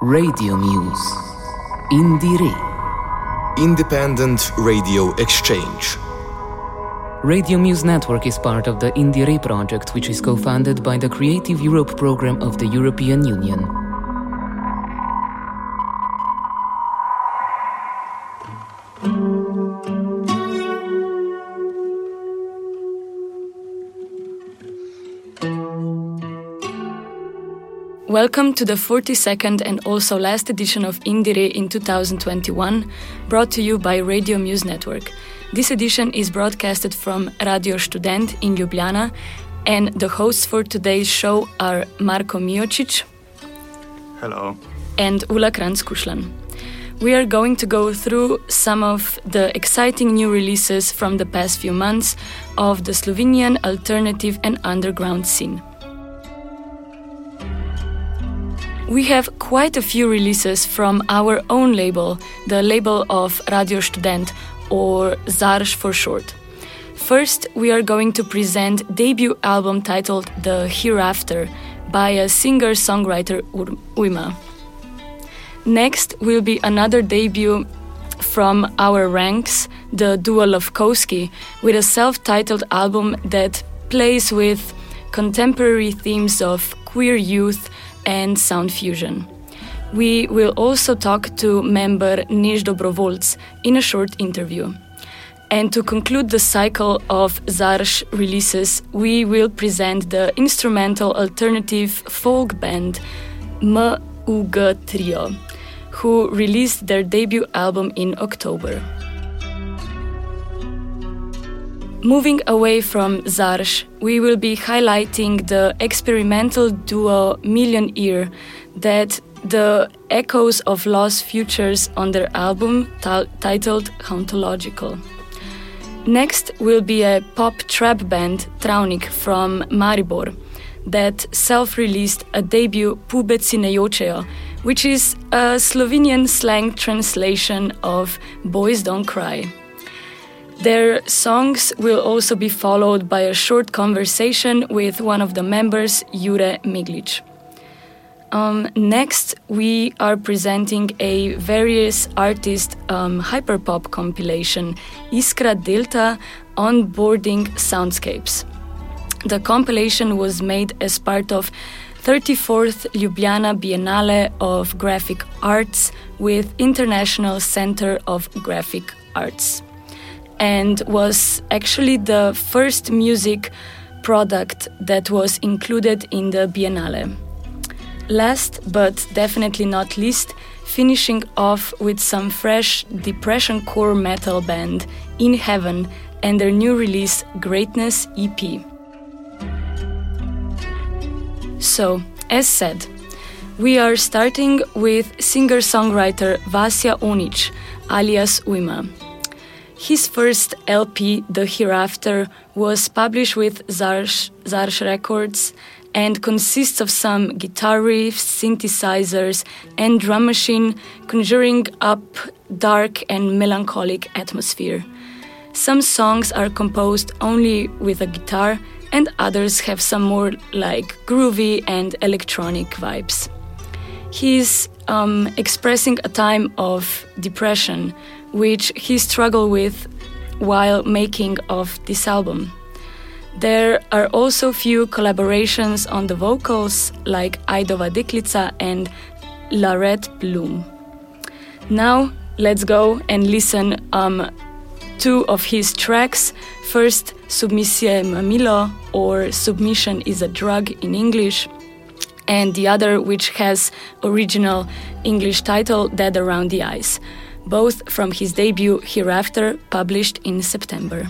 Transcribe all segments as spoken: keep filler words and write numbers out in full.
Radio Muse. Indire. Independent Radio Exchange. Radio Muse Network is part of the Indire project, which is co-funded by the Creative Europe program of the European Union. Welcome to the forty-second and also last edition of Indire in two thousand twenty-one, brought to you by Radio Muse Network. This edition is broadcasted from Radio Student in Ljubljana, and the hosts for today's show are Marko Miocic. Hello. And Ula Kranz-Kušlan. We are going to go through some of the exciting new releases from the past few months of the Slovenian alternative and underground scene. We have quite a few releases from our own label, the label of Radio Student, or Zarš for short. First, we are going to present a debut album titled The Hereafter by a singer-songwriter Ujma. Next will be another debut from our ranks, the duo Lovkovsky, with a self-titled album that plays with contemporary themes of queer youth and sound fusion. We will also talk to member Než Dobrovoljc in a short interview. And to conclude the cycle of Zarš releases, we will present the instrumental alternative folk band M U G Trio, who released their debut album in October. Moving away from Zarš, we will be highlighting the experimental duo Million Ear that the echoes of lost futures on their album t- titled Hauntological. Next will be a pop trap band Travnik from Maribor that self-released a debut Pubeci ne jočejo, which is a Slovenian slang translation of Boys Don't Cry. Their songs will also be followed by a short conversation with one of the members, Jure Miglic. Um, next, we are presenting a various artist um, hyperpop compilation, Iskra Delta Onboarding Soundscapes. The compilation was made as part of thirty-fourth Ljubljana Biennale of Graphic Arts with International Center of Graphic Arts, and was actually the first music product that was included in the Biennale. Last, but definitely not least, finishing off with some fresh depression core metal band, In Heaven, and their new release, Greatness E P. So, as said, we are starting with singer-songwriter Vasja Onić, alias Ujma. His first L P, The Hereafter, was published with Zarš, Zarš Records and consists of some guitar riffs, synthesizers, and drum machine, conjuring up dark and melancholic atmosphere. Some songs are composed only with a guitar, and others have some more like groovy and electronic vibes. He's um, expressing a time of depression, which he struggled with while making of this album. There are also few collaborations on the vocals, like Aidova Deklica and Larette Bloom. Now, let's go and listen um two of his tracks. First, Submisija je mamilo, or Submission is a Drug in English, and the other, which has original English title, Dead Around the Eyes, both from his debut Hereafter, published in September.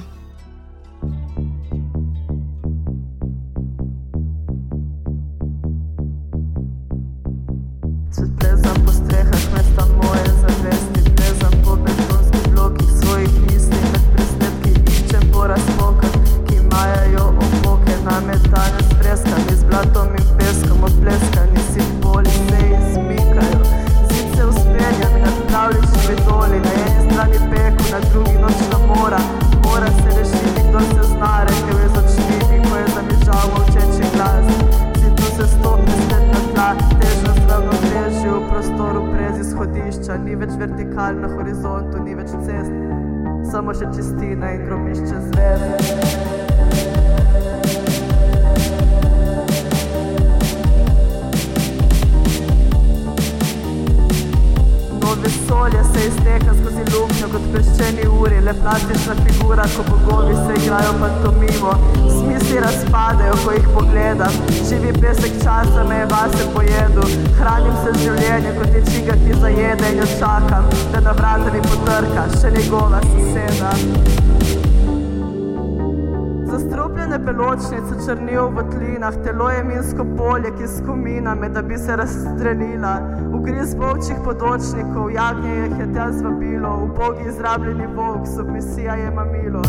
Plezam po strehah mesta moje zavesti, plezam po betonskih blokih svojih misli, med presnetki iščem po razpokah, ki majajo opoke, nametane s freskami, z blatom in peskom odpleskani, simboli se izmikajo, zid se uspenja mi nad pravličnimi doli, na eni strani peku, na drugi nočna mora, mora se rešiti, kdo se zna, rekel je z očmi, ko je zamižal molčeči glas, zidu se stopi spet na tla, težnost ravnoteži v prostoru. kalj na horizontu, ni več cest, samo še čistina in grobišče zvezd. Vesolje se izteka skozi luknjo kot peščeni uri, le plastična figura, ko bogovi se igrajo pantomimo. Smisli razpadejo, ko jih pogledam, živi pesek časa me je vase pojedu. Hranim se z življenjem kot je čiga, ki zajede in jo čakam, da na vrata mi potrka še njegova soseda. Zastrupljene beločnice črnijo v tlinah, telo je minsko polje, ki skomina me, da bi se razstrelila. Ugriz volčjih podočnikov, jagnje jih je tja zvabilo, ubogi izrabljeni volk, submisija je mamilo.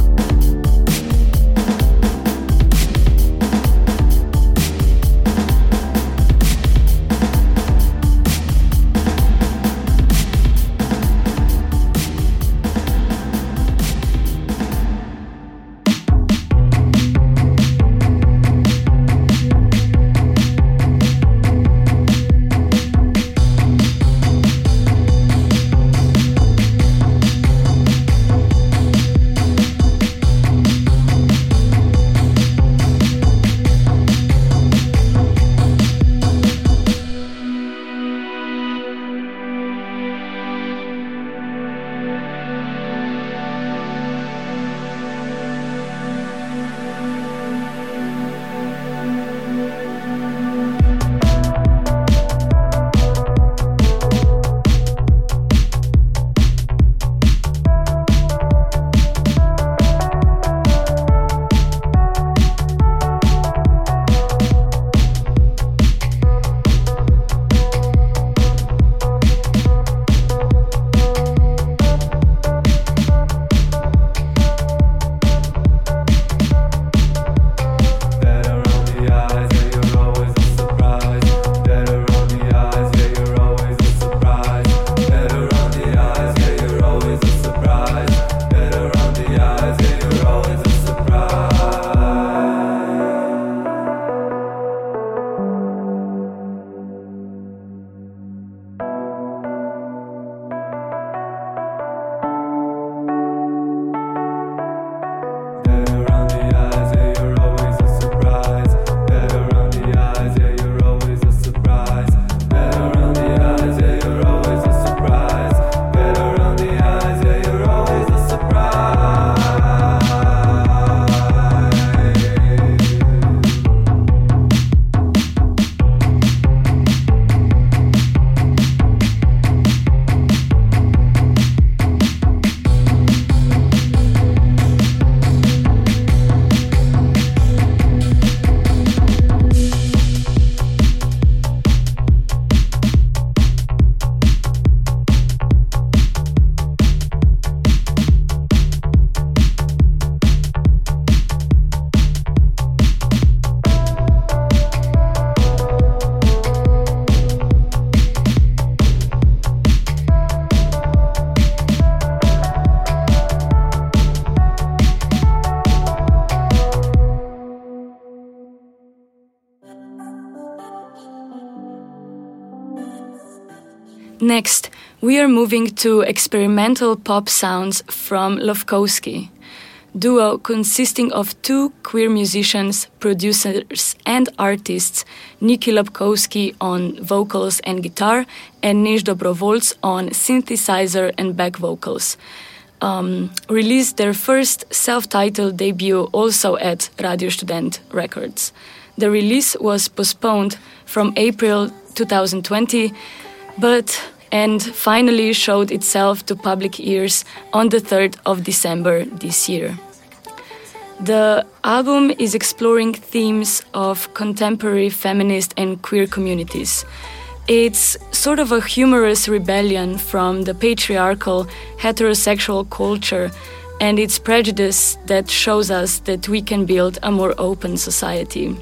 Next, we are moving to experimental pop sounds from Lofkowski, duo consisting of two queer musicians, producers and artists, Niki Lofkowski on vocals and guitar and Než Dobrovolc on synthesizer and back vocals. Um, released their first self-titled debut also at Radio Student Records. The release was postponed from April twenty twenty, but and finally showed itself to public ears on the third of December this year. The album is exploring themes of contemporary feminist and queer communities. It's sort of a humorous rebellion from the patriarchal heterosexual culture and its prejudice that shows us that we can build a more open society.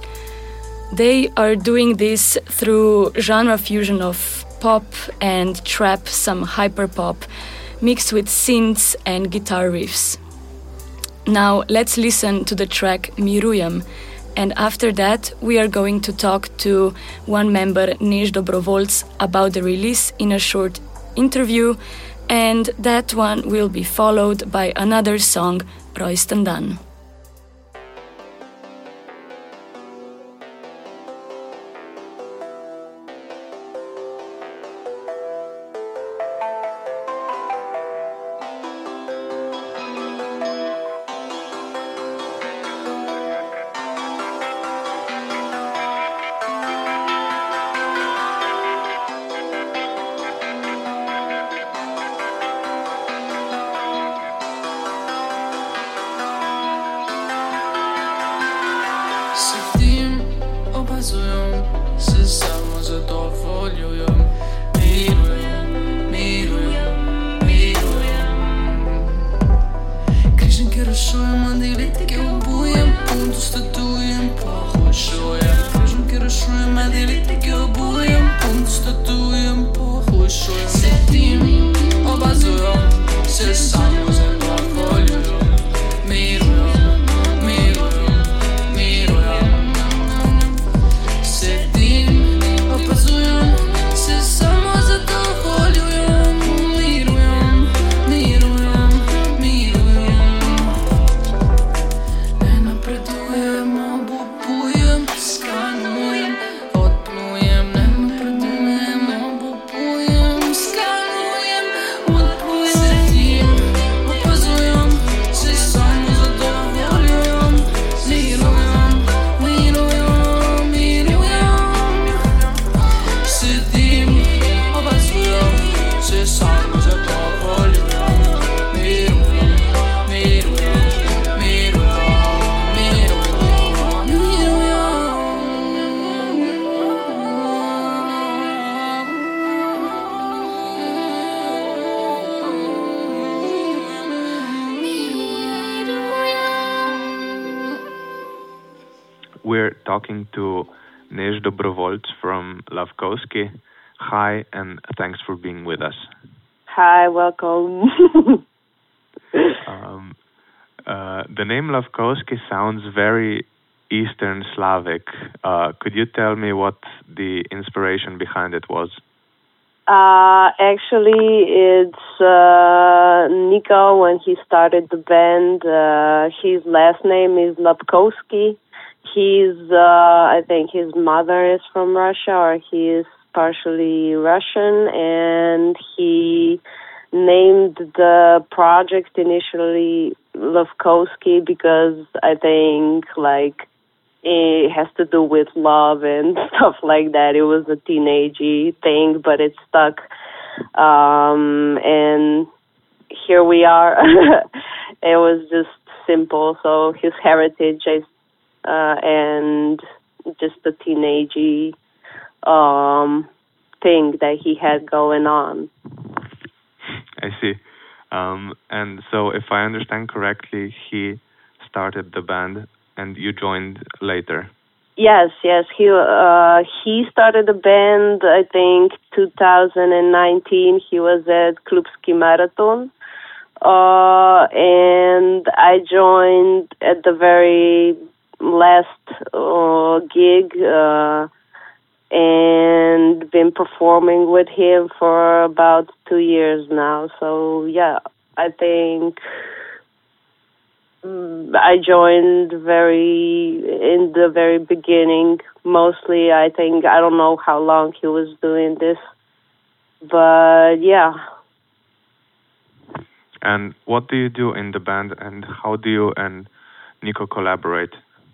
They are doing this through genre fusion of pop and trap, some hyperpop, mixed with synths and guitar riffs. Now let's listen to the track Mirujem, and after that we are going to talk to one member, Než Dobrovolc, about the release in a short interview And that one will be followed by another song, Rojsten dan. We're talking to Než Dobrovolc from Lavkovsky. Hi, and thanks for being with us. Hi, welcome. um, uh, the name Lavkovsky sounds very Eastern Slavic. Uh, could you tell me what the inspiration behind it was? Uh, actually, it's uh, Nico, when he started the band, uh, his last name is Lavkovsky. He's, uh, I think his mother is from Russia, or he is partially Russian, and he named the project initially Lavkovsky because I think, like, it has to do with love and stuff like that. It was a teenagey thing, but it stuck. Um, and here we are. It was just simple. So his heritage is, uh, and just a teenagey um, thing that he had going on. I see. Um, and so if I understand correctly, he started the band and you joined later. Yes, yes. He uh, he started the band, I think, two thousand nineteen. He was at Klubski Marathon. Uh, and I joined at the very last uh, gig uh, and been performing with him for about two years now. So, yeah, I think I joined very in the very beginning. Mostly, I think, I don't know how long he was doing this, but yeah. And what do you do in the band, and how do you and Nico collaborate?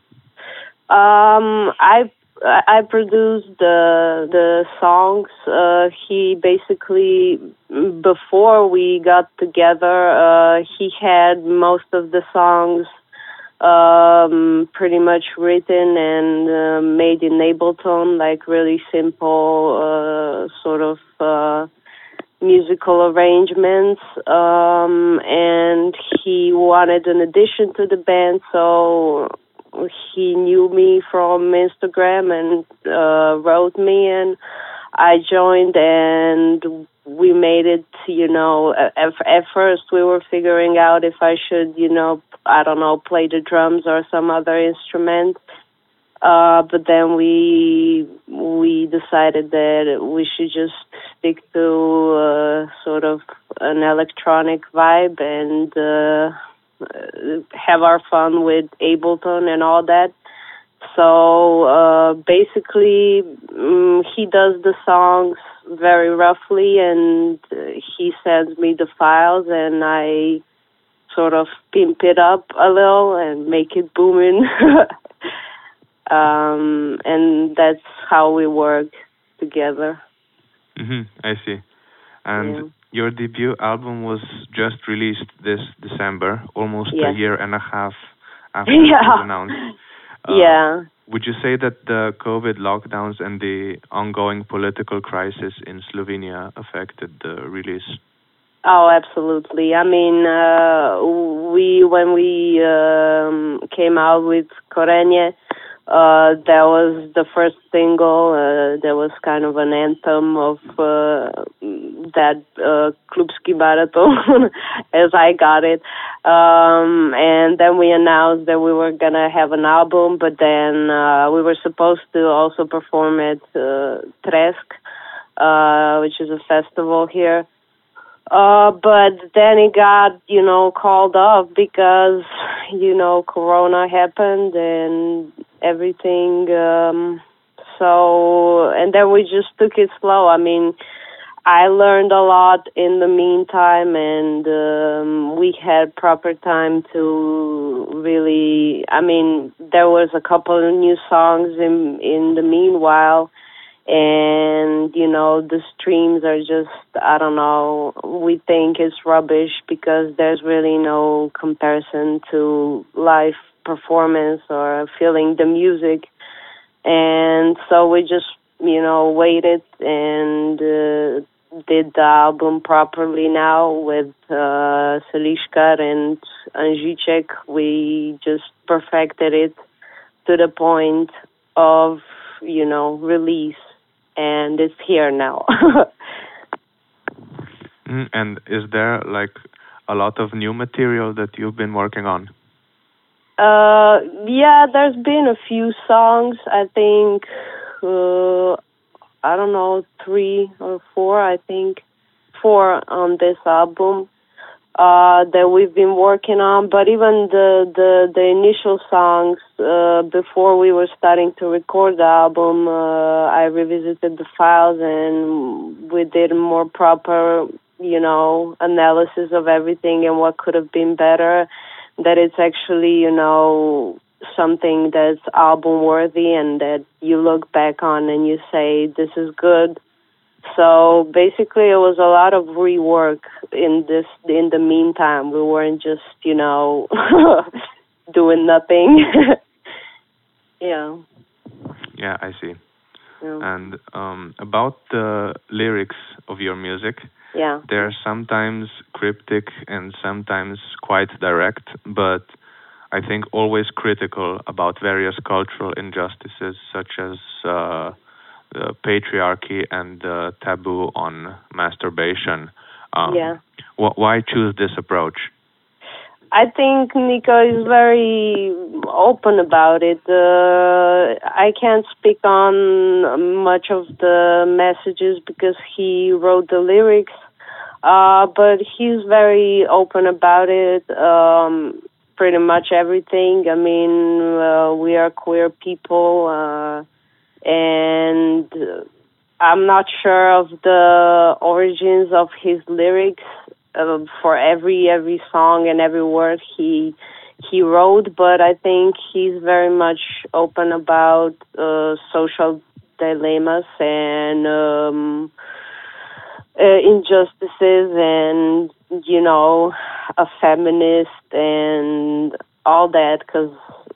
Um, I I produced the the songs. Uh, he basically, before we got together, uh, he had most of the songs um, pretty much written and uh, made in Ableton, like really simple uh, sort of uh, musical arrangements. Um, and he wanted an addition to the band, so he knew me from Instagram and uh, wrote me, and I joined, and we made it, you know, at, at first we were figuring out if I should, you know, I don't know, play the drums or some other instrument. Uh, but then we we decided that we should just stick to uh, sort of an electronic vibe and uh, have our fun with Ableton and all that. So uh, basically, um, he does the songs very roughly, and uh, he sends me the files, and I sort of pimp it up a little and make it booming. um, and that's how we work together. Mm-hmm, I see. And yeah. your debut album was just released this December, almost yes. a year and a half after yeah. it was announced. Uh, yeah. Would you say that the COVID lockdowns and the ongoing political crisis in Slovenia affected the release? Oh, absolutely. I mean, uh, we when we um, came out with Korenje, uh, that was the first single. Uh, that was kind of an anthem of uh, that uh, Klubski Marathon, as I got it. Um, and then we announced that we were going to have an album, but then uh, we were supposed to also perform at uh, Tresk, uh, which is a festival here. Uh, but then it got, you know, called off because, you know, Corona happened and everything. Um, so, and then we just took it slow. I mean, I learned a lot in the meantime, and um, we had proper time to really, I mean, there was a couple of new songs in in the meanwhile. And, you know, the streams are just, I don't know, we think it's rubbish because there's really no comparison to live performance or feeling the music. And so we just, you know, waited and uh, did the album properly now with uh, Seliškar and Anžiček. We just perfected it to the point of, you know, release. And it's here now. mm, and is there like a lot of new material that you've been working on? Uh, yeah, there's been a few songs. I think, uh, I don't know, three or four, I think, four on this album uh, that we've been working on. But even the, the, the initial songs, uh, before we were starting to record the album, uh, I revisited the files and we did a more proper, you know, analysis of everything and what could have been better. That it's actually, you know, something that's album worthy and that you look back on and you say, this is good. So basically it was a lot of rework in this, in the meantime. We weren't just, you know, doing nothing. yeah. Yeah, I see. Yeah. And um, about the lyrics of your music, yeah. they're sometimes cryptic and sometimes quite direct, but I think always critical about various cultural injustices such as uh, the patriarchy and the taboo on masturbation. Um, yeah. Wh- why choose this approach? I think Nico is very open about it. Uh, I can't speak on much of the messages because he wrote the lyrics, uh, but he's very open about it. Um, pretty much everything. I mean, uh, we are queer people, uh, and I'm not sure of the origins of his lyrics. Uh, for every every song and every word he he wrote, but I think he's very much open about uh, social dilemmas and um, uh, injustices, and you know, a feminist and all that. Because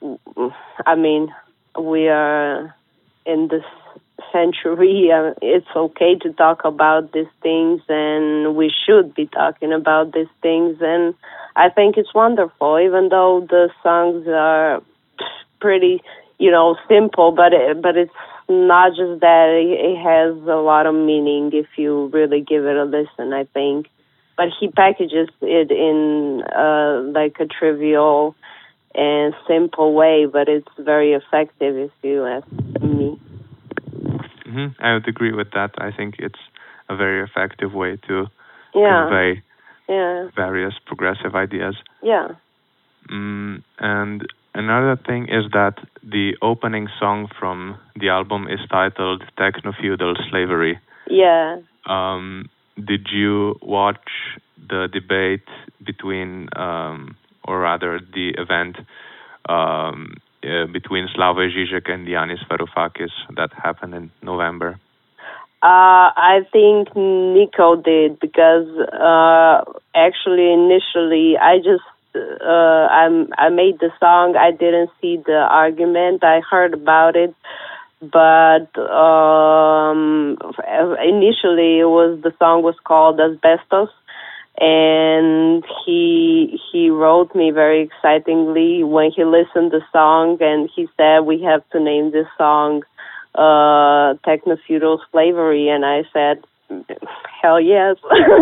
I mean, we are in this century, uh, it's okay to talk about these things, and we should be talking about these things, and I think it's wonderful, even though the songs are pretty, you know, simple, but it, but it's not just that, it, it has a lot of meaning if you really give it a listen, I think. But he packages it in uh, like a trivial and simple way, but it's very effective if you ask me. Mm-hmm. I would agree with that. I think it's a very effective way to yeah. convey yeah. various progressive ideas. Yeah. Mm, and another thing is that the opening song from the album is titled Techno-Feudal Slavery. Yeah. Um, did you watch the debate between, um, or rather the event um, uh, between Slavoj Žižek and Yanis Varoufakis that happened in November? Uh, I think Nico did, because uh, actually initially I just uh, I I made the song. I didn't see the argument. I heard about it, but um, initially it was the song was called Asbestos, and he he wrote me very excitingly when he listened to the song, and he said we have to name this song uh Techno-Feudal Slavery, and I said hell yes.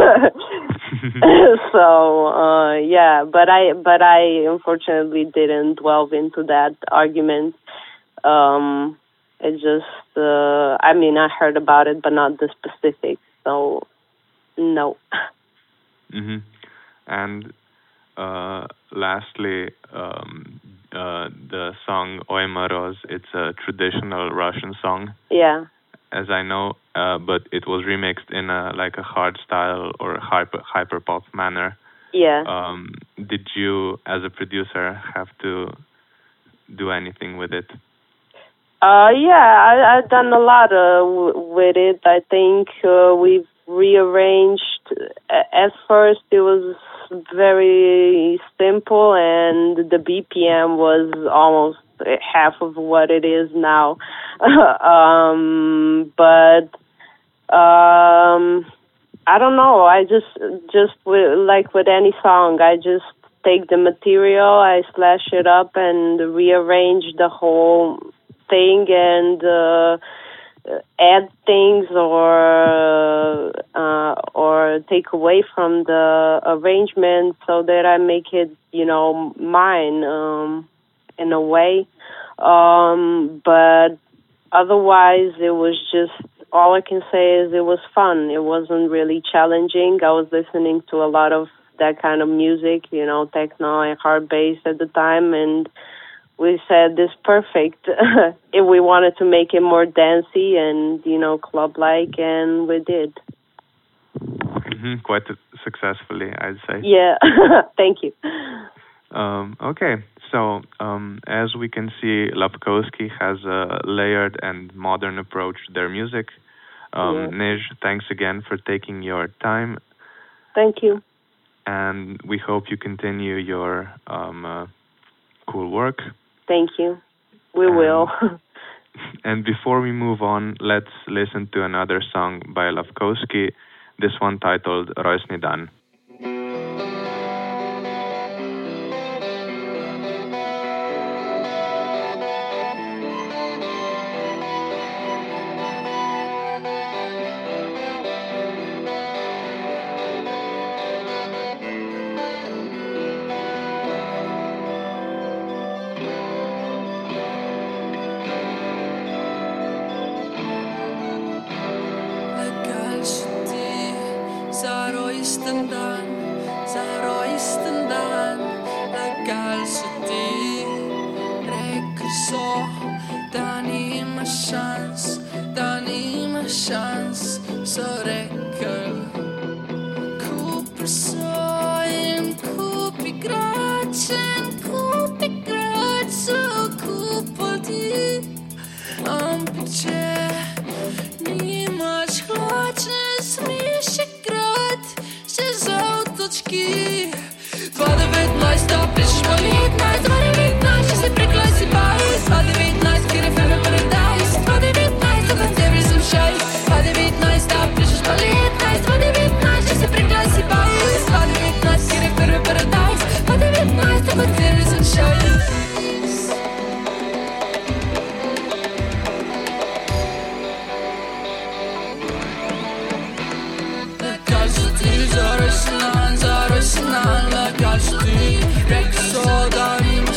So uh yeah, but I but I unfortunately didn't delve into that argument. Um it just uh I mean I heard about it but not the specifics, so no. Mm-hmm. And uh lastly, um Uh, the song Oi Moroz, it's a traditional Russian song. Yeah. As I know, uh, but it was remixed in a like a hard style or hyper hyper pop manner. Yeah. Um, did you, as a producer, have to do anything with it? Uh, yeah, I, I've done a lot uh, w- with it. I think uh, we've rearranged. At first, it was very simple, and the B P M was almost half of what it is now. um, but um, I don't know. I just, just with, like with any song, I just take the material, I slash it up, and rearrange the whole thing, and uh, add things or uh, or take away from the arrangement so that I make it, you know, mine um, in a way. Um, but otherwise, it was just, all I can say is it was fun. It wasn't really challenging. I was listening to a lot of that kind of music, you know, techno and hard bass at the time, and we said this perfect if we wanted to make it more dancey and, you know, club-like, and we did. Mm-hmm. Quite successfully, I'd say. Yeah, thank you. Um, okay, so um, as we can see, Lapkowski has a layered and modern approach to their music. Um, yeah. Nej, thanks again for taking your time. Thank you. And we hope you continue your um, uh, cool work. Thank you. We and, will. And before we move on, let's listen to another song by Lapkowski, this one titled Roysny Dan.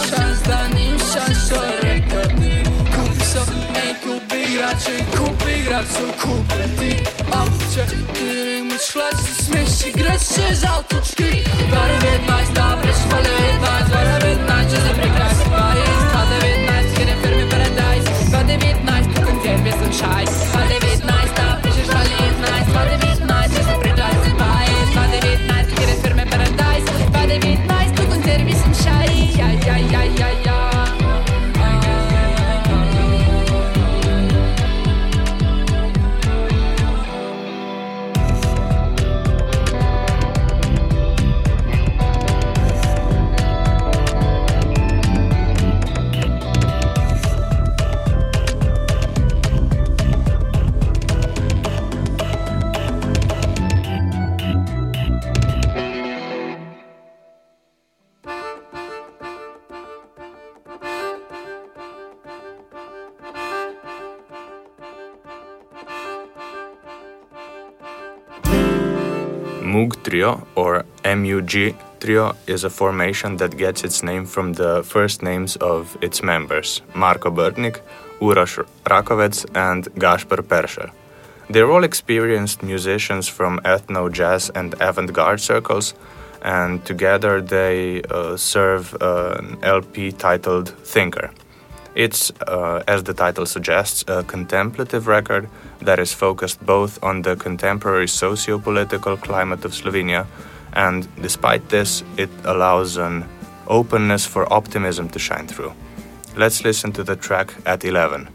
Kupi grad sul kupiti Auće, tyrim u šlaci smiši Greše žaltučki Vara devetnaest, da prešla devetnaest Vara devetnaest, će se prekrasi pajis Pa devetnaest, kjer je firme paradise Pa devetnaest, tu koncerve sam šajs Pa devetnaest, da prešla devetnaest Pa devetnaest, će se prekrasi pajis Pa devetnaest, kjer je firme paradise Pa devetnaest, tu koncerve sam šajs Ja, ja, ja, ja, ja Moog Trio, or M U G Trio, is a formation that gets its name from the first names of its members, Marko Brtnik, Uroš Rakovec, and Gašper Peršer. They're all experienced musicians from ethno, jazz, and avant-garde circles, and together they uh, serve uh, an L P titled Thinker. It's, uh, as the title suggests, a contemplative record that is focused both on the contemporary socio-political climate of Slovenia, and despite this, it allows an openness for optimism to shine through. Let's listen to the track At eleven.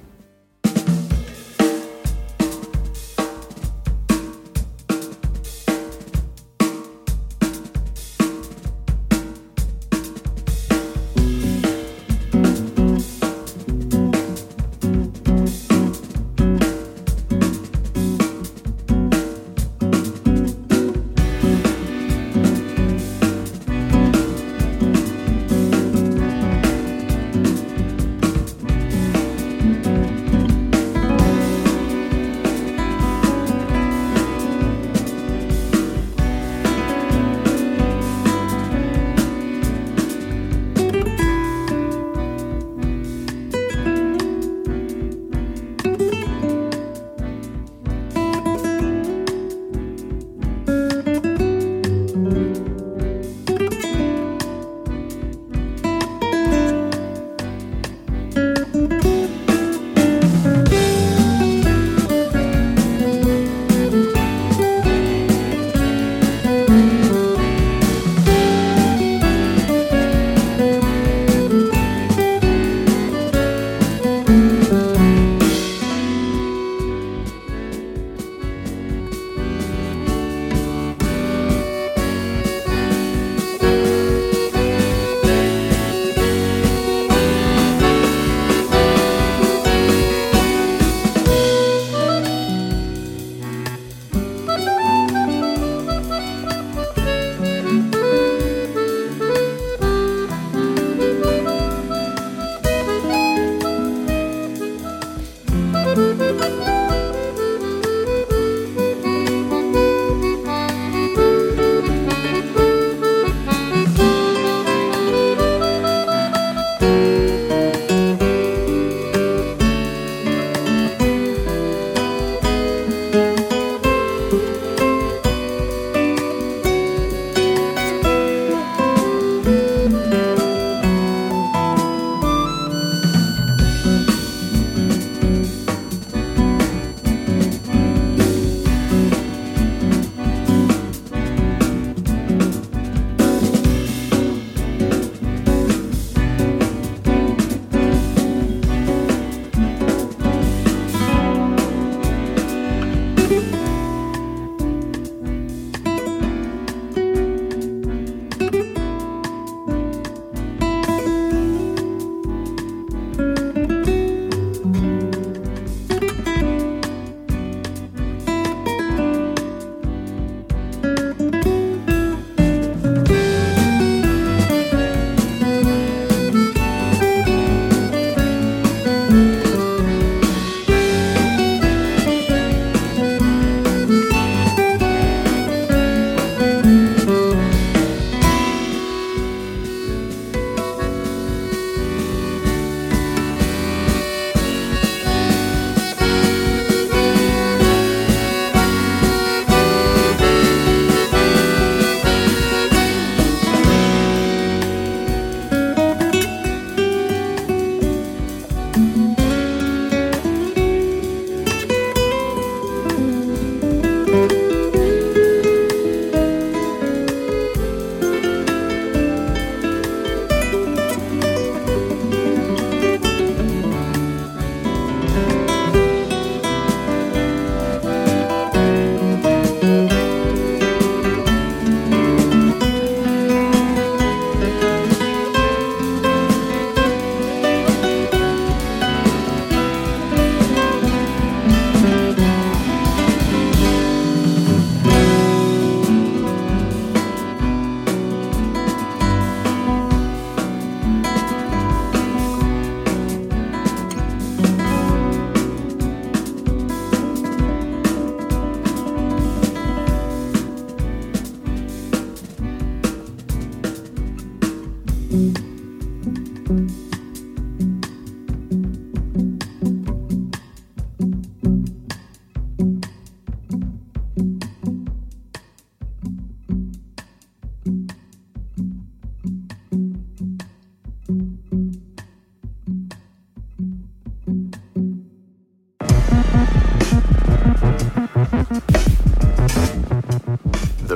Thank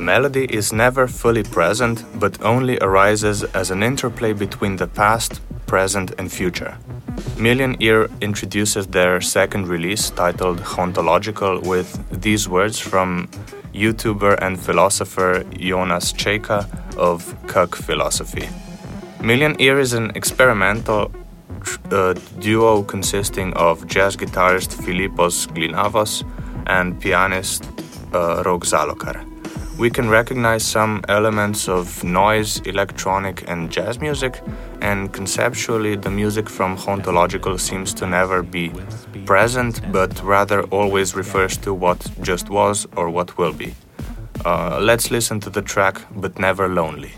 melody is never fully present, but only arises as an interplay between the past, present, and future. Million Ear introduces their second release, titled Hauntological, with these words from YouTuber and philosopher Jonas Čeika of Kuk Philosophy. Million Ear is an experimental uh, duo consisting of jazz guitarist Filipos Glinavos and pianist uh, Rok Zalokar. We can recognize some elements of noise, electronic, and jazz music, and conceptually the music from Hauntological seems to never be present, but rather always refers to what just was or what will be. Uh, let's listen to the track But Never Lonely.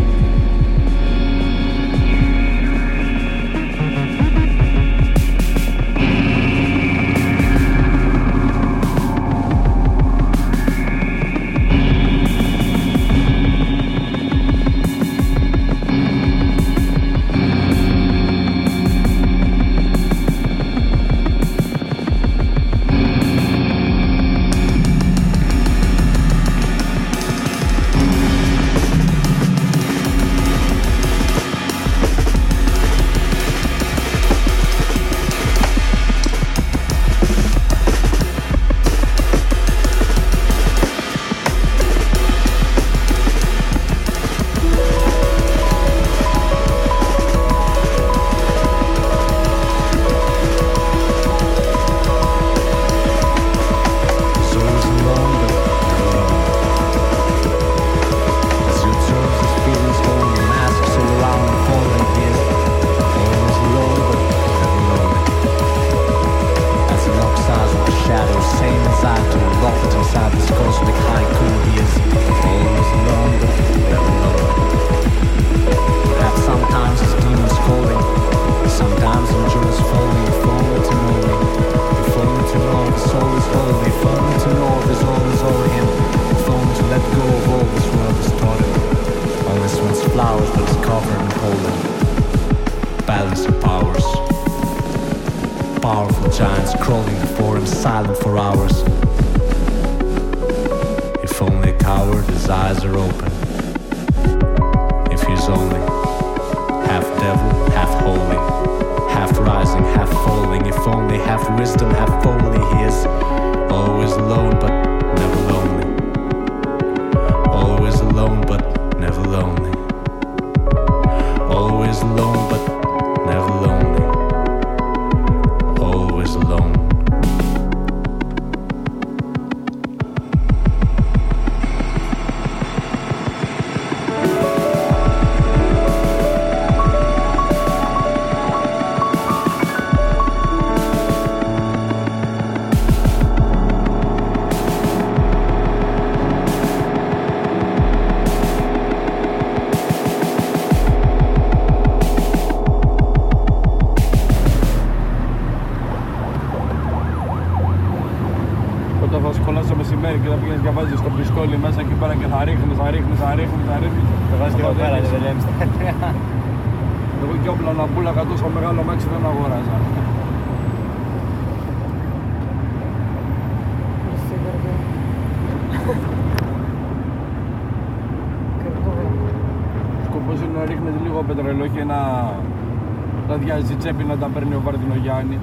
Τσέπη να τα παίρνει ο Βαρδινογιάννης.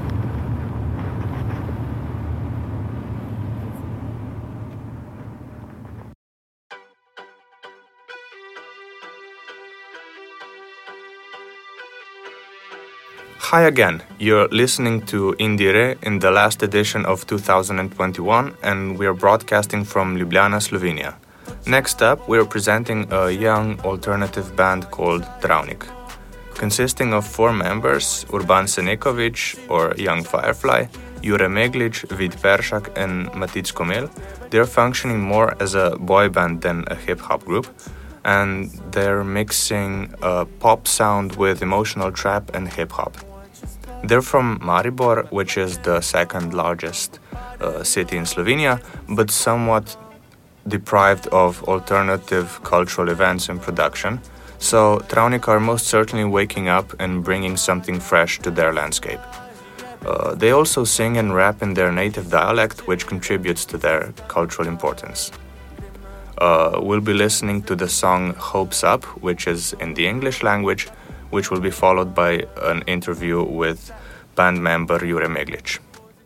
Hi again, you're listening to Indire in the last edition of two thousand twenty-one, and we're broadcasting from Ljubljana, Slovenia. Next up, we're presenting a young alternative band called Travnik. Consisting of four members, Urban Senekovic, or Young Firefly, Jure Meglic, Vid Peršak, and Matic Komel, they're functioning more as a boy band than a hip-hop group, and they're mixing a pop sound with emotional trap and hip-hop. They're from Maribor, which is the second largest uh, city in Slovenia, but somewhat deprived of alternative cultural events and production. So Travnik are most certainly waking up and bringing something fresh to their landscape. Uh, they also sing and rap in their native dialect, which contributes to their cultural importance. Uh, we'll be listening to the song Hopes Up, which is in the English language, which will be followed by an interview with band member Jure Meglic.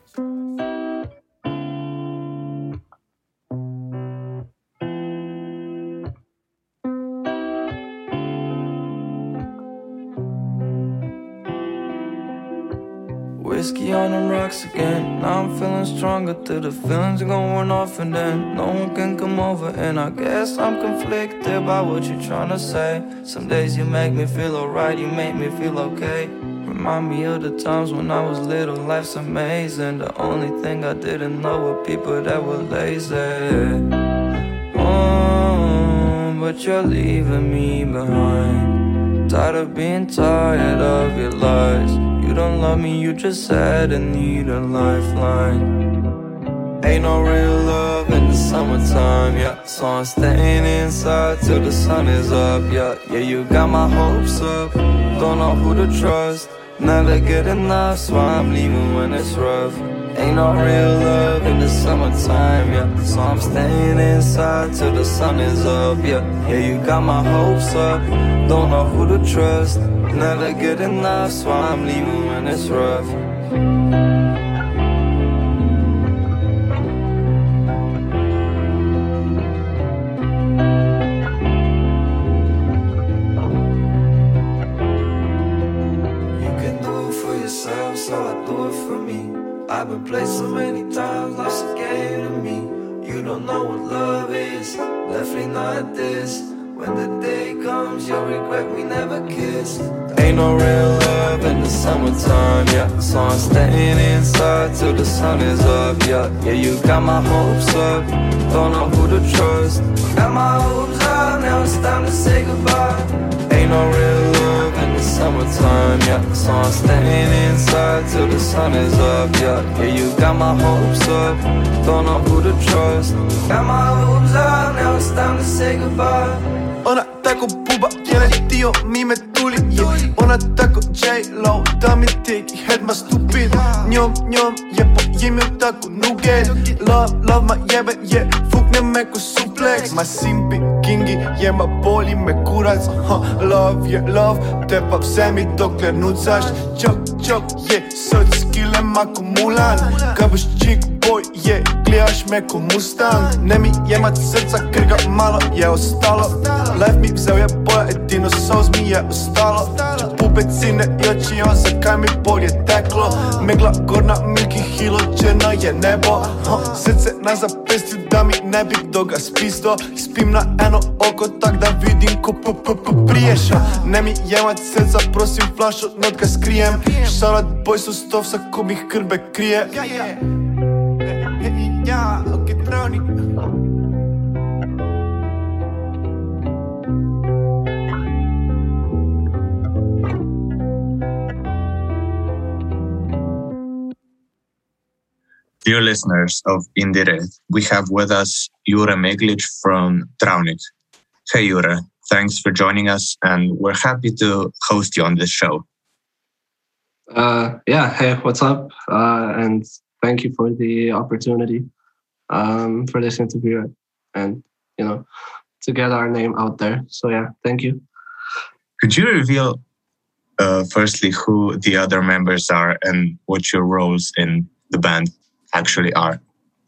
Whiskey on them rocks again. Now I'm feeling stronger till the feelings are going off, and then no one can come over. And I guess I'm conflicted by what you're trying to say. Some days you make me feel alright, you make me feel okay. Remind me of the times when I was little, life's amazing. The only thing I didn't know were people that were lazy. Oh, but you're leaving me behind. Tired of being tired of your lies. You don't love me, you just sad and need a lifeline. Ain't no real love in the summertime, yeah. So I'm staying inside till the sun is up, yeah. Yeah, you got my hopes up, don't know who to trust. Never get enough, so I'm leaving when it's rough. Ain't no real love in the summertime, yeah. So I'm staying inside till the sun is up, yeah. Yeah, you got my hopes up, don't know who to trust. Never get enough, so I'm leaving when it's rough. You can do it for yourself, so I do it for me. I've been played so many times, life's a game to me. You don't know what love is, definitely not this. When the day comes, you'll regret we never kissed. Ain't no real love in the summertime, yeah. So I'm staying inside till the sun is up, yeah. Yeah, you got my hopes up, don't know who to trust. Got my hopes up, now it's time to say goodbye. Ain't no real love in the summertime, yeah. So I'm staying inside till the sun is up, yeah. Yeah, you got my hopes up, don't know who to trust. Got my hopes up, now it's time to say goodbye. Ona tako buba, njene htio mi me tuli, yeah. Ona tako J-Lo, da mi teki head ma stupid. Njom, njom, je po imju tako nuget. Love, love ma jebe, je, yeah. Fukne me ko suplex. Ma simpi, kingi, je ma boli me kurac, huh. Love je love, te pa vse mi dokler nucaš. Čok, čok, je, src skile ma ko Mulan. Kad boš čik boy, je, gledaš me ko Mustang. Ne mi jemat srca, ker ga malo je ostalo. Life mi vzel je boja, edino soz mi je ostalo. Pupecine i oči, on zakaj mi bol je teklo. Megla gorna, Milky Hilo, černo je nebo, huh. Srce na zapestju da mi ne bi kdo ga spisto. Spim na eno oko tak da vidim ko p-p-p-priješa. Ne mi jemat srca, prosim flašo, not ga skrijem. Šalat boj su stovsa ko mi krbe krije. Ja, ja, ja, ok, troni. Dear listeners of Indie Red, we have with us Jure Meglic from Travnik. Hey Jure, thanks for joining us, and we're happy to host you on this show. Uh, yeah, hey, what's up? Uh, and thank you for the opportunity um, for this interview and, you know, to get our name out there. So yeah, thank you. Could you reveal, uh, firstly, who the other members are and what your roles in the band actually are?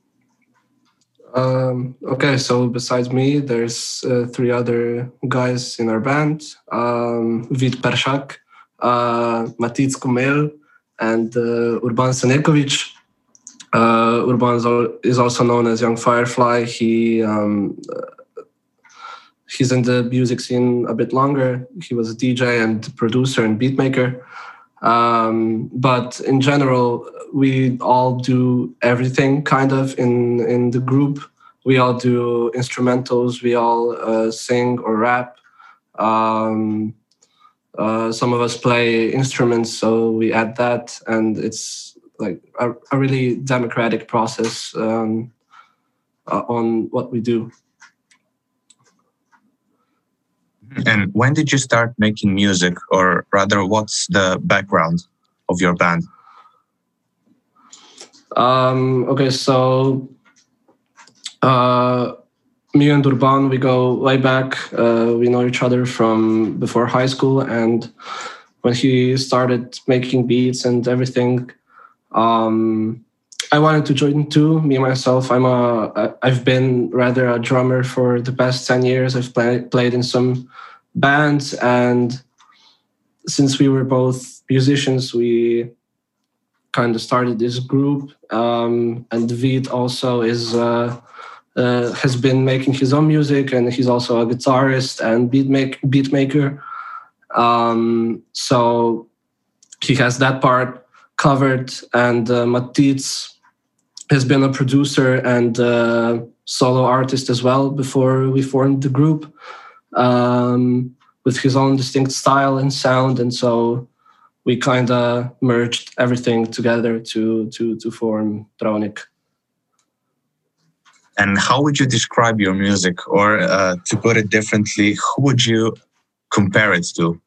Um, okay, so besides me, there's uh, three other guys in our band. Um, Vid Peršak, uh, Matic Kumel, and uh, Urban Senekovic. Uh, Urban is also known as Young Firefly. He um, uh, he's in the music scene a bit longer. He was a D J and producer and beatmaker. Um, but in general, we all do everything kind of in, in the group. We all do instrumentals. We all uh, sing or rap. Um, uh, some of us play instruments, so we add that. And it's like a, a really democratic process um, uh, on what we do. And when did you start making music, or rather, what's the background of your band? Um, okay, so uh, me and Urban, we go way back. Uh, we know each other from before high school, and when he started making beats and everything, um, I wanted to join too. Me myself, I'm a I've been rather a drummer for the past ten years. I've play, played in some bands, and since we were both musicians, we kind of started this group. Um, and Vid also is. Uh, Uh, has been making his own music, and he's also a guitarist and beat, make, beat maker. Um, so he has that part covered. And uh, Matic has been a producer and uh, solo artist as well before we formed the group, um, with his own distinct style and sound. And so we kind of merged everything together to to to form Traunik. And how would you describe your music? Or uh, to put it differently, who would you compare it to?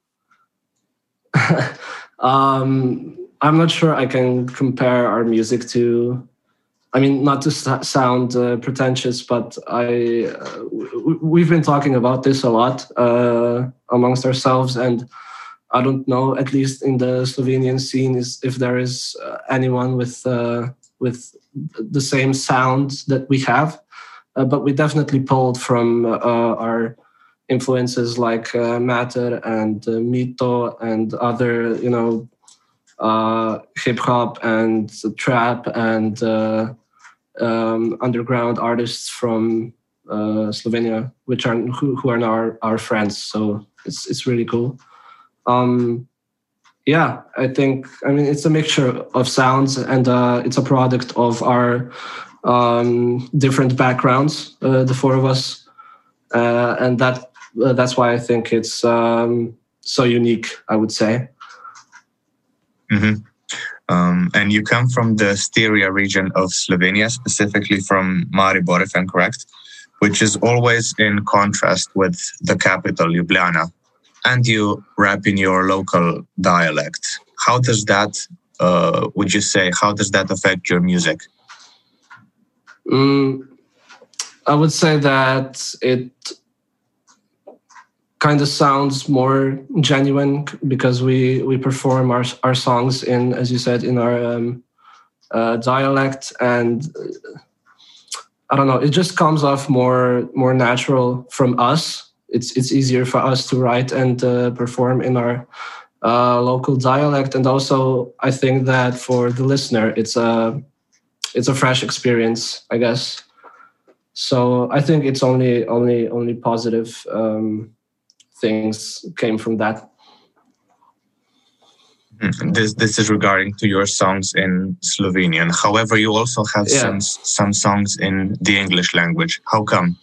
um, I'm not sure I can compare our music to, I mean, not to sound uh, pretentious, but I uh, we've been talking about this a lot uh, amongst ourselves. And I don't know, at least in the Slovenian scene, is if there is uh, anyone with uh, with the same sound that we have. Uh, but we definitely pulled from uh, our influences like uh, Matter and uh, Mito and other, you know, uh, hip hop and trap and uh, um, underground artists from uh, Slovenia, which are who, who are now our, our friends. So it's it's really cool. Um, yeah, I think I mean it's a mixture of sounds, and uh, it's a product of our Um, different backgrounds, uh, the four of us, uh, and that uh, that's why I think it's um, so unique, I would say. Mm-hmm. Um, and you come from the Styria region of Slovenia, specifically from Maribor, if I'm correct, which is always in contrast with the capital, Ljubljana, and you rap in your local dialect. How does that, uh, would you say, how does that affect your music? Mm, I would say that it kind of sounds more genuine because we, we perform our our songs in, as you said, in our um, uh, dialect, and uh, I don't know, it just comes off more more natural from us. It's it's easier for us to write and uh, perform in our uh, local dialect, and also I think that for the listener, it's a It's a fresh experience, I guess. So I think it's only only only positive um, things came from that. This this is regarding to your songs in Slovenian. However, you also have Yeah. some some songs in the English language. How come?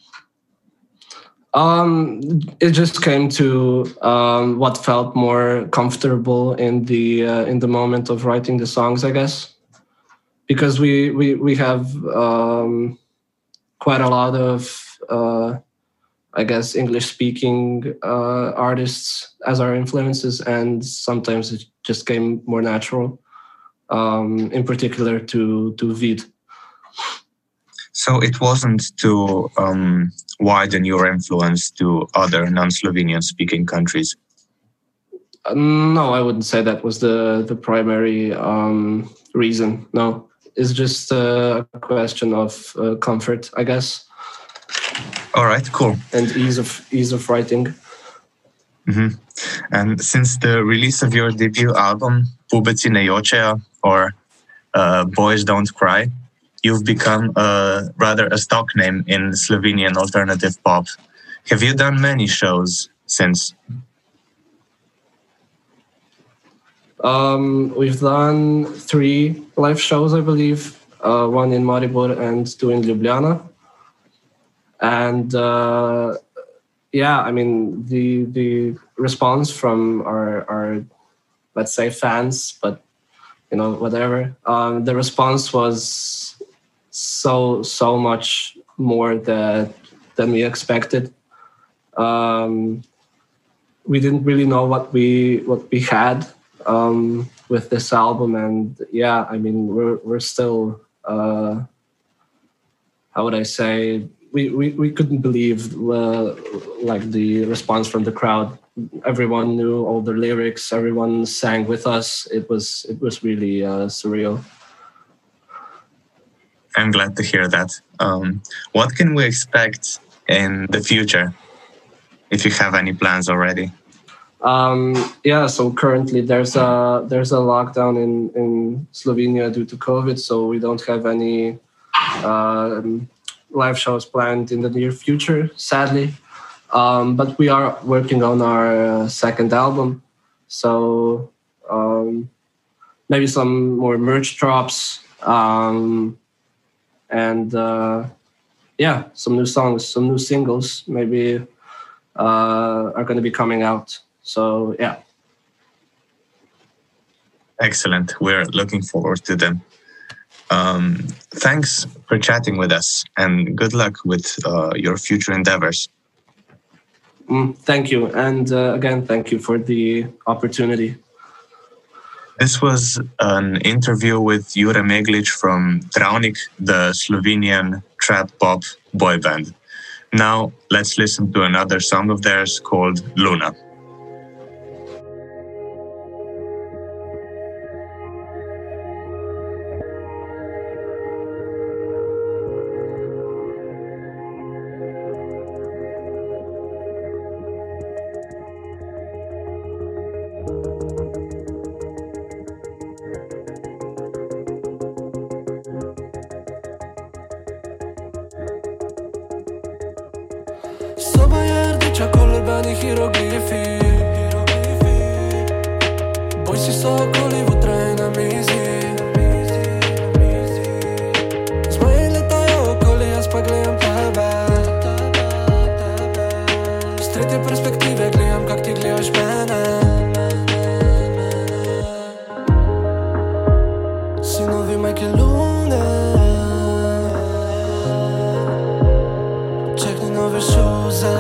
Um, it just came to um, what felt more comfortable in the uh, in the moment of writing the songs, I guess. Because we we we have um, quite a lot of uh, I guess English speaking uh, artists as our influences, and sometimes it just came more natural. Um, in particular to to Vid. So it wasn't to um, widen your influence to other non-Slovenian speaking countries. Uh, no, I wouldn't say that was the the primary um, reason. No. It's just a question of uh, comfort, I guess. All right, cool. And ease of ease of writing. Mm-hmm. And since the release of your debut album, Pubeci ne jočejo, or uh, Boys Don't Cry, you've become uh, rather a stock name in Slovenian alternative pop. Have you done many shows since? Um, we've done three live shows, I believe. Uh, one in Maribor and two in Ljubljana. And uh, yeah, I mean the the response from our our let's say fans, but you know whatever. Um, the response was so so much more that than we expected. Um, we didn't really know what we what we had. Um, with this album, and yeah, I mean we're we're still uh, how would I say we, we, we couldn't believe uh, like the response from the crowd. Everyone knew all the lyrics. Everyone sang with us. It was it was really uh, surreal. I'm glad to hear that. Um, what can we expect in the future, if you have any plans already? Um, yeah, so currently there's a there's a lockdown in, in Slovenia due to COVID, so we don't have any um, live shows planned in the near future, sadly. Um, but we are working on our uh, second album, so um, maybe some more merch drops, um, and uh, yeah, some new songs, some new singles maybe uh, are going to be coming out. So yeah. Excellent. We're looking forward to them. Um, thanks for chatting with us, and good luck with uh, your future endeavors. Mm, thank you. And uh, again, thank you for the opportunity. This was an interview with Jure Meglic from Travnik, the Slovenian trap pop boy band. Now let's listen to another song of theirs called Luna. Soba je rdeča, kolebani hieroglifi. Bojsi so okoli votraj na mizi. Zmaji letajo okoli, jaz pa gledam tebe. Z tretje perspektive gledam, kak ti gledaš mene. Sinovi majke lune. Čekni nove šuze.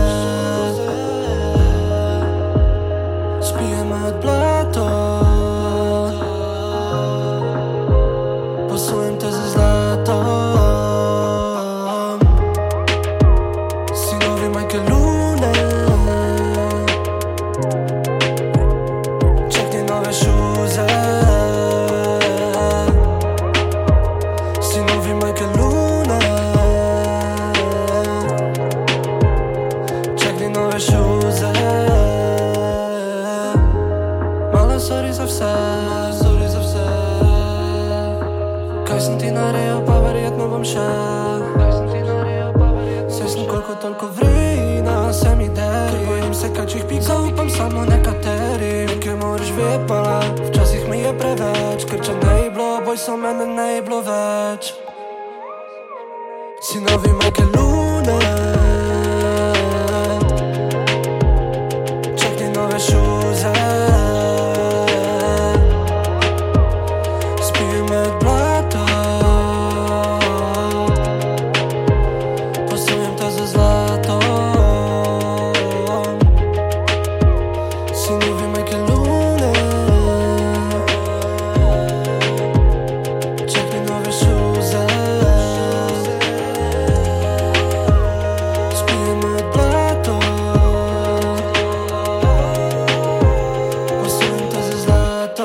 Spijeme od blato. Posujem te za zlato. Sinovi majke lune. Čekni nove šuze. Sinovi majke lune. Čekni nove šuze. Mala sorry za vse, sorry za vse. Kaj sem ti naredil, pa verjetno bom še. Saj sem koliko toliko vrina, se mi deri. Ker bojim se kačih pik, zaupam samo nekaterim. Nekaj moraš vedpala, včasih mi je preveč. Ker če ne je bilo, boj so mene ne je bilo več. Sinovi majke lune. Čekni nove šuze. Spij me od blata. Posujem te za zlato. Sinovi majke lune. Čekni nove šuze. Spij me od blata. Posujem te za zlato.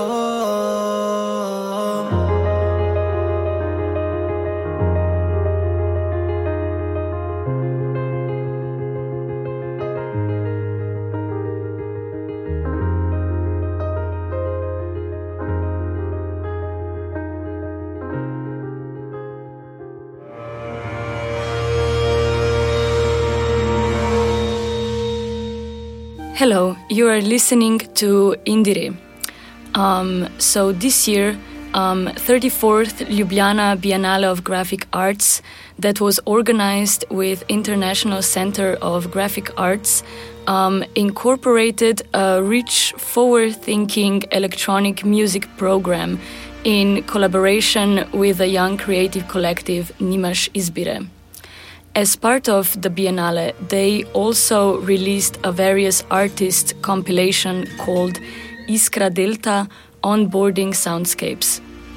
Hello, you are listening to Indire. Um, so this year, um, thirty-fourth Ljubljana Biennale of Graphic Arts, that was organized with International Center of Graphic Arts, um, incorporated a rich, forward-thinking electronic music program in collaboration with the young creative collective Nimaš Izbire. As part of the Biennale, they also released a various artists compilation called Iskra Delta Onboarding Soundscapes.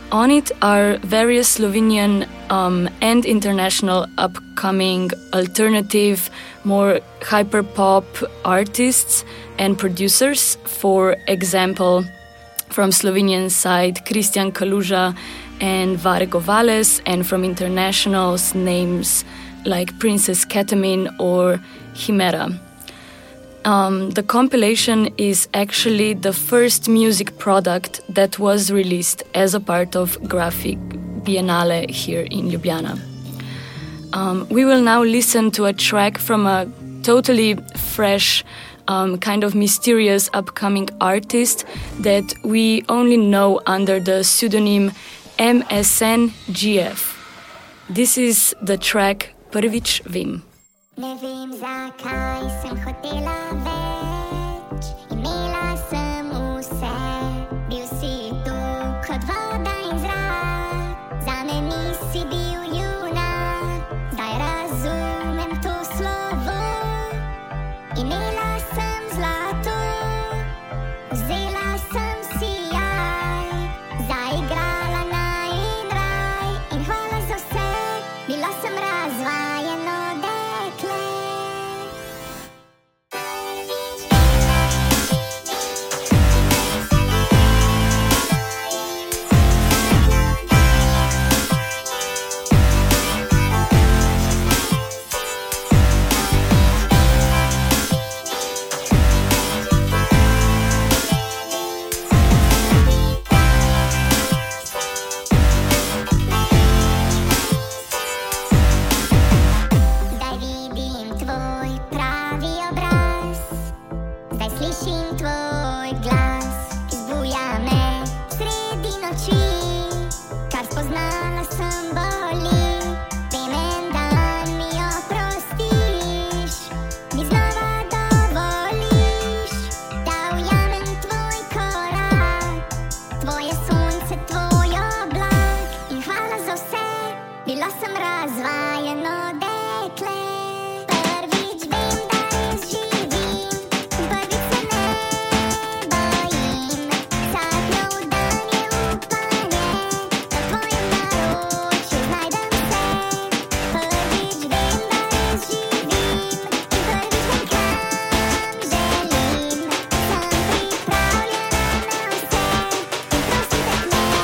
On it are various Slovenian um, and international upcoming alternative, more hyper-pop artists and producers. For example, from Slovenian side, Christian Kaluža and Vare Govales, and from internationals, names like Princess Ketamine or Chimera. Um, the compilation is actually the first music product that was released as a part of Graphic Biennale here in Ljubljana. Um, we will now listen to a track from a totally fresh, um, kind of mysterious upcoming artist that we only know under the pseudonym M S N G F. This is the track Prvič vem. Ne vem, zakaj sem hotela več, imela sem vse, bil si tu kot voda in zrak, zame nisi bil junak, zdaj razumem to slovo, imela sem zlato, vzela sem sijaj, zaigrala naj in raj in hvala za vse, bila sem razvajeno dekle. Zdaj vidim tvoj pravi obraz, zdaj slišim tvoj glas, ki zbuja me sredi noči, kar spoznala sem boli, vem en dan mi oprostiš, mi znova dovoliš, da ujamem tvoj korak, tvoje sonce, tvoj oblak in hvala za vse, bila sem razvajeno dekle. Prvič vem, da res živim, prvič se ne bojim, vsak nov dan je upanje, v tvojem naročju znajdem se. Prvič vem, da res živim in prvič vem, kam želim, sem pripravljena na vse in prosim te k meni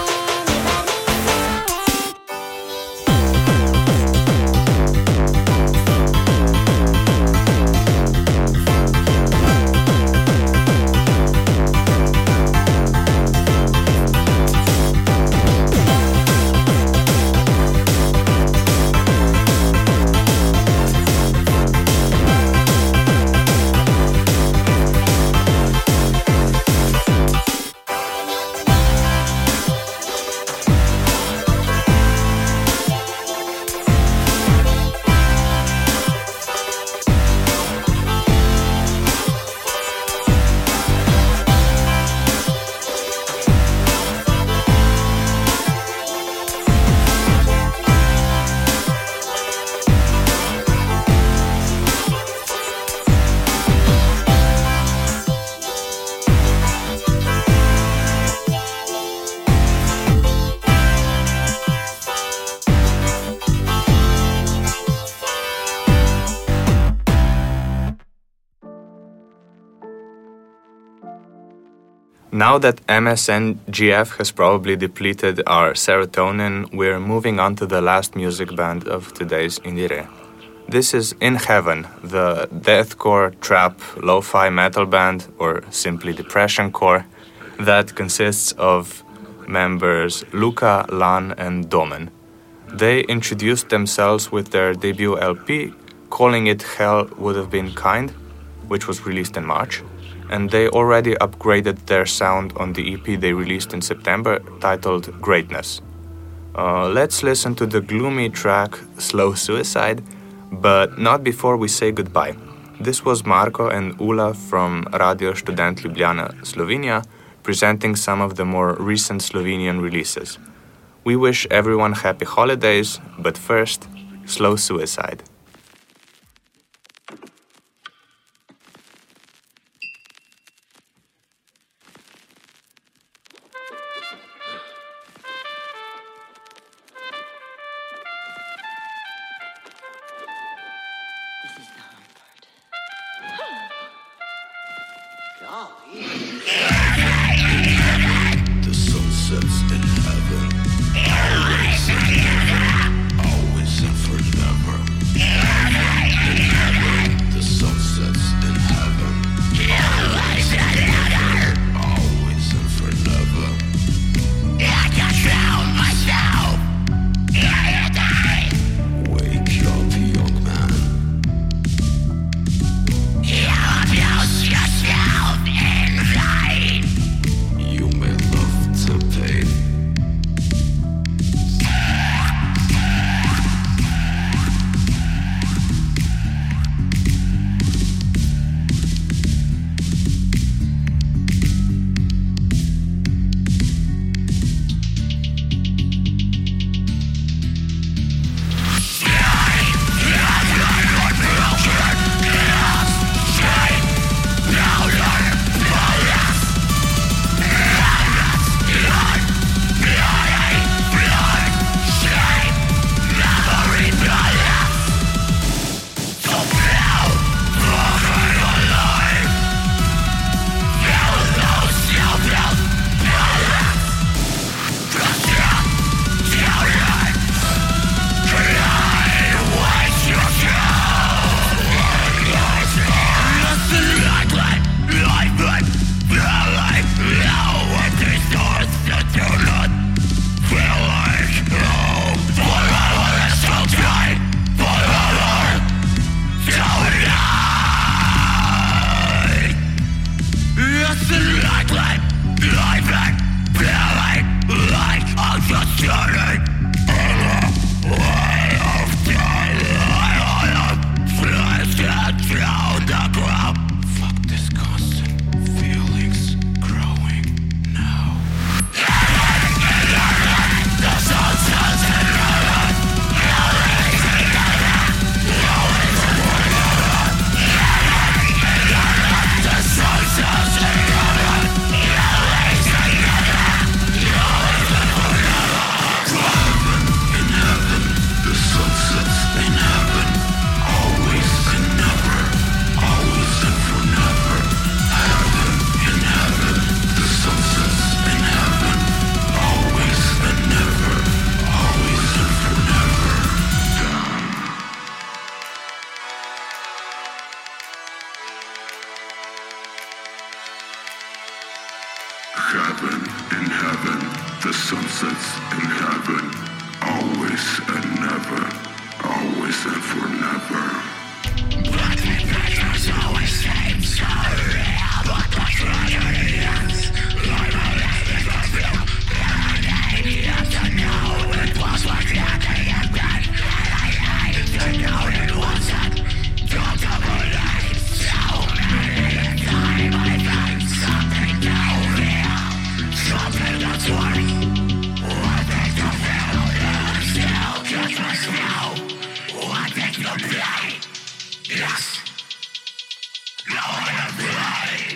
Now that M S N G F has probably depleted our serotonin, we're moving on to the last music band of today's Indire. This is In Heaven, the deathcore, trap, lo-fi metal band, or simply depressioncore, that consists of members Luka, Lan, and Domen. They introduced themselves with their debut L P, calling it Hell Would Have Been Kind, which was released in March, and they already upgraded their sound on the E P they released in September, titled Greatness. Uh, let's listen to the gloomy track Slow Suicide, but not before we say goodbye. This was Marko and Ula from Radio Študent Ljubljana, Slovenia, presenting some of the more recent Slovenian releases. We wish everyone happy holidays, but first, Slow Suicide. The sun sets in heaven. Always and never. Always and forever. In heaven. The sun sets in heaven. Always and never. Always and forever. I can feel myself. Wake up, young man. You abuse yourself in vain. You may love the pain. Heaven, in heaven, the sun sets in heaven, always and never, always and for never. But the pictures always seem so real, but the tragedy is like a living reveal. And I need to know it was like nothing and then I need to know it wasn't. Don't believe so many times I find something down here, something that's worth. What did you feel? You still can't trust now. What did you play? Yes. No, I am right.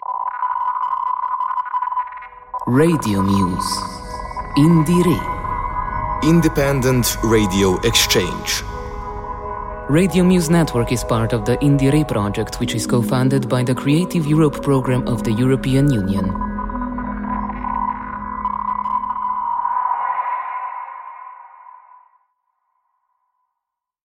Radio Muse. Indire. Independent Radio Exchange. Radio Muse Network is part of the Indire project, which is co-funded by the Creative Europe program of the European Union.